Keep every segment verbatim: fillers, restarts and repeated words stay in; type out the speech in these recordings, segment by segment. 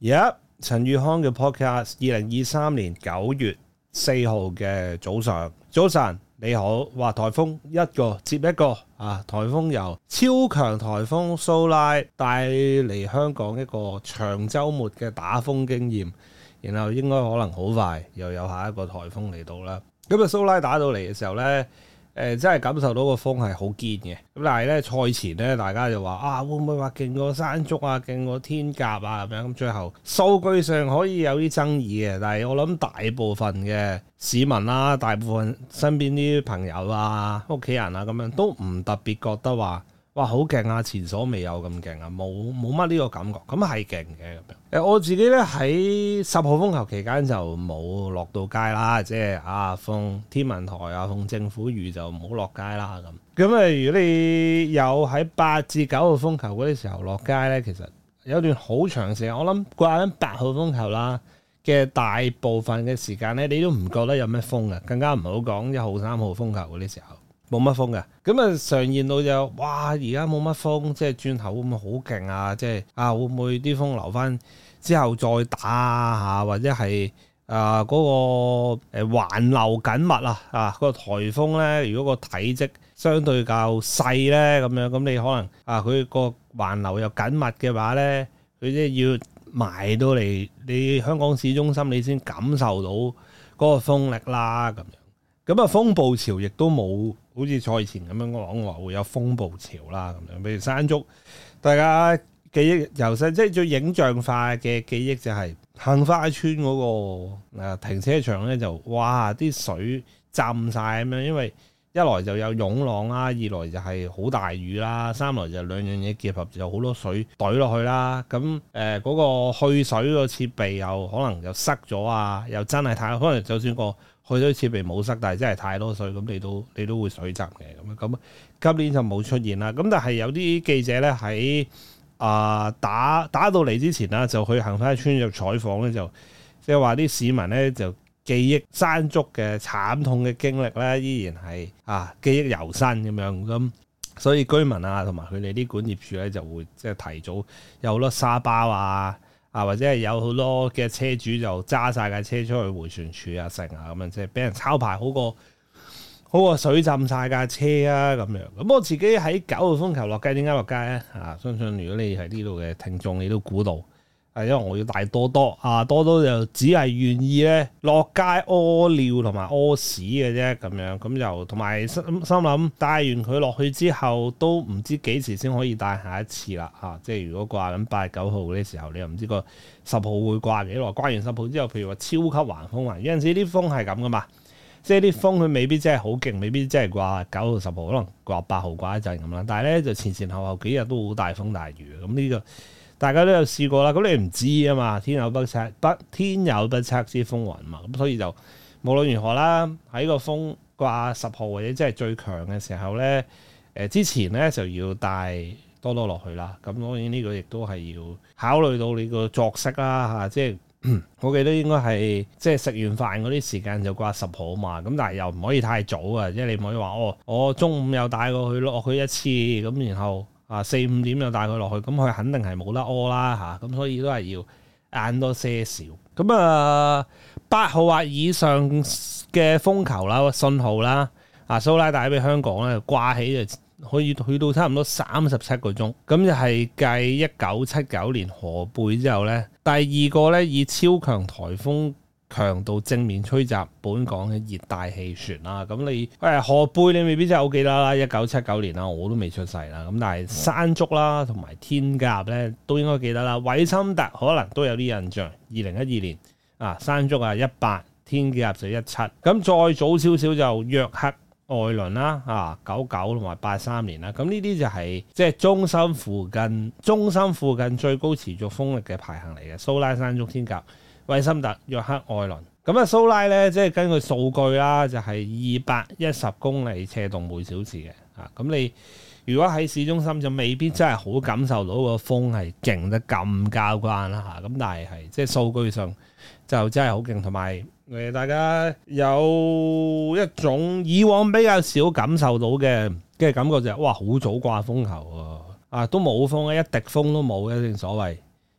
而家陳宇康嘅 podcast， 二零二三年九月四號嘅早上，早晨你好。哇，颱風一個接一個啊！颱風由超強颱風蘇拉帶嚟香港一個長週末嘅打風經驗，然後應該可能好快又有下一個颱風嚟到啦。咁啊，蘇拉打到嚟嘅時候呢。誒、呃、真係感受到個風係好堅嘅，咁但係咧賽前咧大家就話啊，會唔會話勁過山竹啊，勁過天鴿啊咁樣，咁最後數據上可以有啲爭議嘅，但係我諗大部分嘅市民啦、啊，大部分身邊啲朋友啊、屋企人啊咁樣都唔特別覺得話哇好勁啊，前所未有咁勁啊，冇冇乜呢個感覺，咁係勁嘅咁樣。誒我自己咧喺十號風球期間就冇落到街啦，即係啊奉天文台啊奉政府預就唔好落街啦咁。咁啊如果你有喺八至九號風球嗰啲時候落街咧，其實有段好長時間，我諗掛緊八號風球啦嘅大部分嘅時間咧，你都唔覺得有咩風嘅，更加唔好講一號三號風球嗰啲時候。冇乜風嘅，咁啊常言到就哇而家冇乜風，即係轉頭會唔會好勁啊？即係啊會唔會啲風留翻之後再打啊？或者係啊嗰個誒環流緊密啊啊嗰個颱風咧，如果個體積相對較細咧咁樣，咁你可能啊佢個環流又緊密嘅話咧，佢即係要埋到嚟你香港市中心，你先感受到嗰個風力啦咁樣。咁啊風暴潮亦都冇好似賽前咁樣講話會有風暴潮啦咁樣，譬如山竹，大家記憶猶新，即係最影像化嘅記憶就係杏花村嗰個誒停車場咧，就哇啲水浸晒咁樣，因為一來就有湧浪啦，二來就係好大雨啦，三來就兩樣嘢結合，就有好多水懟落去啦。咁誒嗰個去水個設備又可能又塞咗啊，又真係太可能就算個去水設備冇塞，但係真係太多水，咁你都你都會水浸嘅咁咁。今年就冇出現啦。咁但係有啲記者咧喺啊打打到嚟之前啦，就去杏花村入採訪咧，就即係話啲市民咧就記憶山竹嘅慘痛嘅經歷咧，依然係啊記憶猶新咁樣咁。所以居民啊同埋佢哋啲管業處咧就會即係提早有好多沙包啊。啊，或者係有好多嘅車主就揸晒架車出去迴旋處啊、成啊咁樣，即係俾人抄牌好過好過水浸晒架車啊咁樣。咁我自己喺九號風球落街，點解落街咧？啊，相信如果你係呢度嘅聽眾，你都估到，係因為我要帶多多啊，多多就只係願意咧落街屙尿同埋屙屎嘅啫，咁樣咁就同埋心心諗帶完佢落去之後，都唔知幾時先可以帶下一次啦嚇、啊。即係如果掛緊八九號嗰啲時候，你又唔知個十號會掛幾耐。掛完十號之後，譬如話超級橫風啊，有陣時啲風係咁噶嘛，即係啲風佢未必真係好勁，未必真係掛九號十號，可能掛八號掛一陣咁啦。但係咧就前前後後幾日都好大風大雨咁呢、這個。大家都有試過啦，咁你唔知啊嘛，天有不測不天有不測之風雲嘛，咁所以就無論如何啦，喺個風掛十號或者即係最強嘅時候咧，誒、呃、之前咧就要帶多多落去啦。咁當然呢個亦都係要考慮到你個作息啦嚇、啊，即係我記得應該係即係食完飯嗰啲時間就掛十號嘛。咁但係又唔可以太早啊，即係你唔可以話哦，我中午又帶過去落去一次咁，然後。啊四五點就帶佢落去，咁佢肯定係冇得屙啦嚇，咁、啊、所以都係要晏多些少。咁啊八號或以上嘅風球啦、信號啦，啊蘇拉帶俾香港咧掛起就可以去到差唔多三十七個鐘，咁就係繼一九七九年荷貝之後咧，第二個咧以超強颱風強度正面吹襲本港嘅熱帶氣旋啦，咁你誒荷貝你未必真係好記得啦，一九七九年啦，我都未出世啦，咁但係山竹啦同埋天鴿咧都應該記得啦，韋森特可能都有啲印象，二零一二年啊山竹啊一八，天鴿就一七，咁再早少少就約克愛倫啦啊九九同埋八三年啦，咁呢啲就係即係中心附近中心附近最高持續風力嘅排行嚟嘅，蘇拉、山竹、天鴿、韋森特、約克愛倫，咁啊蘇拉咧，即係根據數據啦，就係二百一十公里斜動每小時嘅，啊，咁你如果喺市中心就未必真係好感受到個風係勁得咁交關啦，嚇，咁但係係即係數據上就真係好勁，同埋誒大家有一種以往比較少感受到嘅嘅感覺就係、是、哇好早掛風球啊，啊都冇風啊，一滴風都冇嘅，正所謂。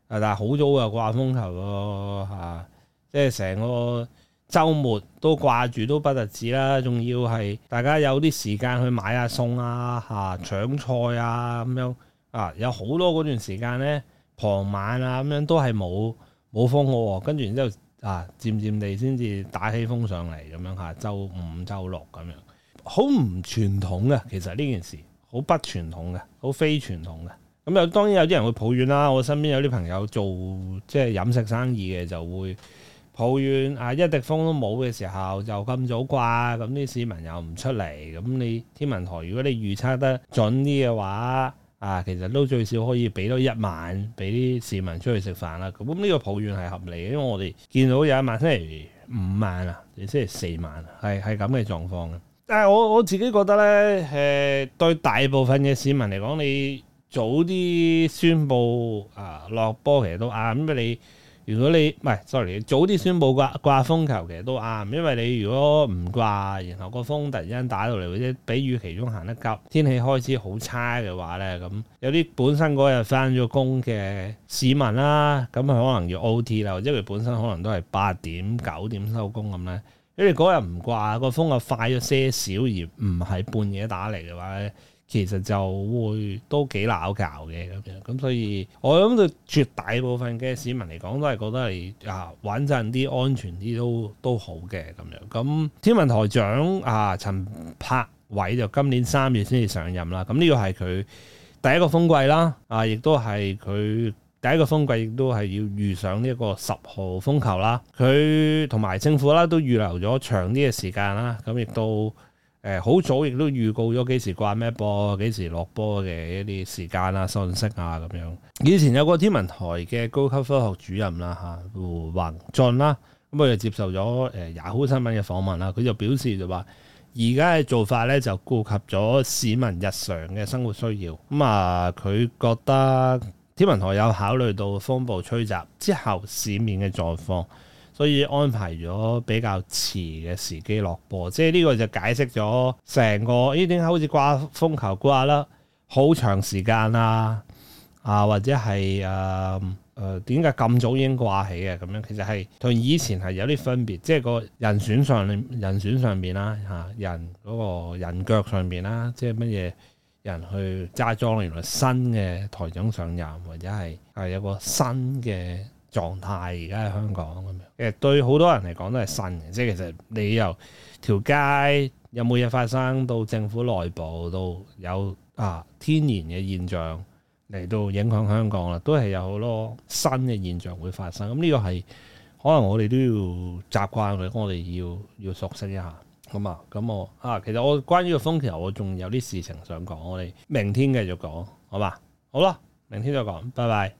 但係好早就掛風球咯嚇，即係成個週末都掛住都不特止啦，仲要係大家有啲時間去買下餸啊嚇，搶菜啊咁樣啊，有好多嗰段時間咧，傍晚啊咁樣都係冇冇風嘅喎，跟住然之後啊，漸漸地先至打起風上嚟咁樣嚇，週五、週六咁樣，好唔傳統嘅，其實呢件事好不傳統嘅，好非傳統嘅。咁有當然有啲人會抱怨啦，我身邊有啲朋友做即係飲食生意嘅就會抱怨啊，一滴風都冇嘅時候就咁早掛，咁啲市民又唔出嚟，咁你天文台如果你預測得準啲嘅話，啊其實都最少可以俾多一晚俾啲市民出去食飯啦。咁呢個抱怨係合理嘅，因為我哋見到有一晚星期五晚啊，定星期四晚係係咁嘅狀況嘅。但係我我自己覺得咧，誒、呃、對大部分嘅市民嚟講，你早啲宣布啊落波其實都啱，因為你如果你唔係，sorry，早啲宣布掛掛風球其實都啱，因為你如果唔掛，然後個風突然間打到嚟，或者比預期中行得急，天氣開始好差嘅話咧，咁有啲本身嗰日返咗工嘅市民啦，咁佢可能要 O T 啦，或者佢本身可能都係八點九點收工咁咧，因為嗰日唔掛，個風又快咗些少，而唔係半夜打嚟嘅話咧，其實就會都幾鬧交嘅咁樣，咁所以我諗對絕大部分嘅市民嚟講，都係覺得係啊穩陣啲、安全啲都都好嘅咁樣。咁天文台長啊陳柏偉就今年三月先至上任啦，咁呢個係佢第一個風季啦，啊亦都係佢第一個風季，亦都係要遇上呢一個十號風球啦。佢同埋政府啦都預留咗長啲嘅時間啦，咁亦都。誒好早亦都預告咗幾時掛咩波、幾時落波嘅一啲時間啊、信息啊咁樣。以前有個天文台嘅高級科學主任啦嚇，胡宏俊啦，咁佢就接受咗誒 Yahoo 新聞嘅訪問啦，佢就表示就話，而家嘅做法咧就顧及咗市民日常嘅生活需要。咁啊，佢覺得天文台有考慮到風暴吹襲之後市面嘅狀況。所以安排咗比較遲嘅時機落波，即係呢個就解釋咗成個咦點解好似掛風球掛啦好長時間啊啊或者係誒誒點解咁早已經掛起嘅咁樣，其實係同以前係有啲分別，即係個人選上人選上邊啦嚇，人嗰個人腳上邊啦，即係乜嘢人去揸莊，原來新嘅台長上任或者係係有個新嘅狀態而家喺香港咁樣，其實對好多人嚟講都係新嘅，即係其實你由條街有冇嘢發生到政府內部到有啊天然嘅現象嚟到影響香港啦，都係有好多新嘅現象會發生。咁呢個係可能我哋都要習慣嘅，我哋要要熟悉一下。咁啊，咁我啊，其實我關於個風球，我仲有啲事情想講，我哋明天繼續講，好嘛？好啦，明天再講，拜拜。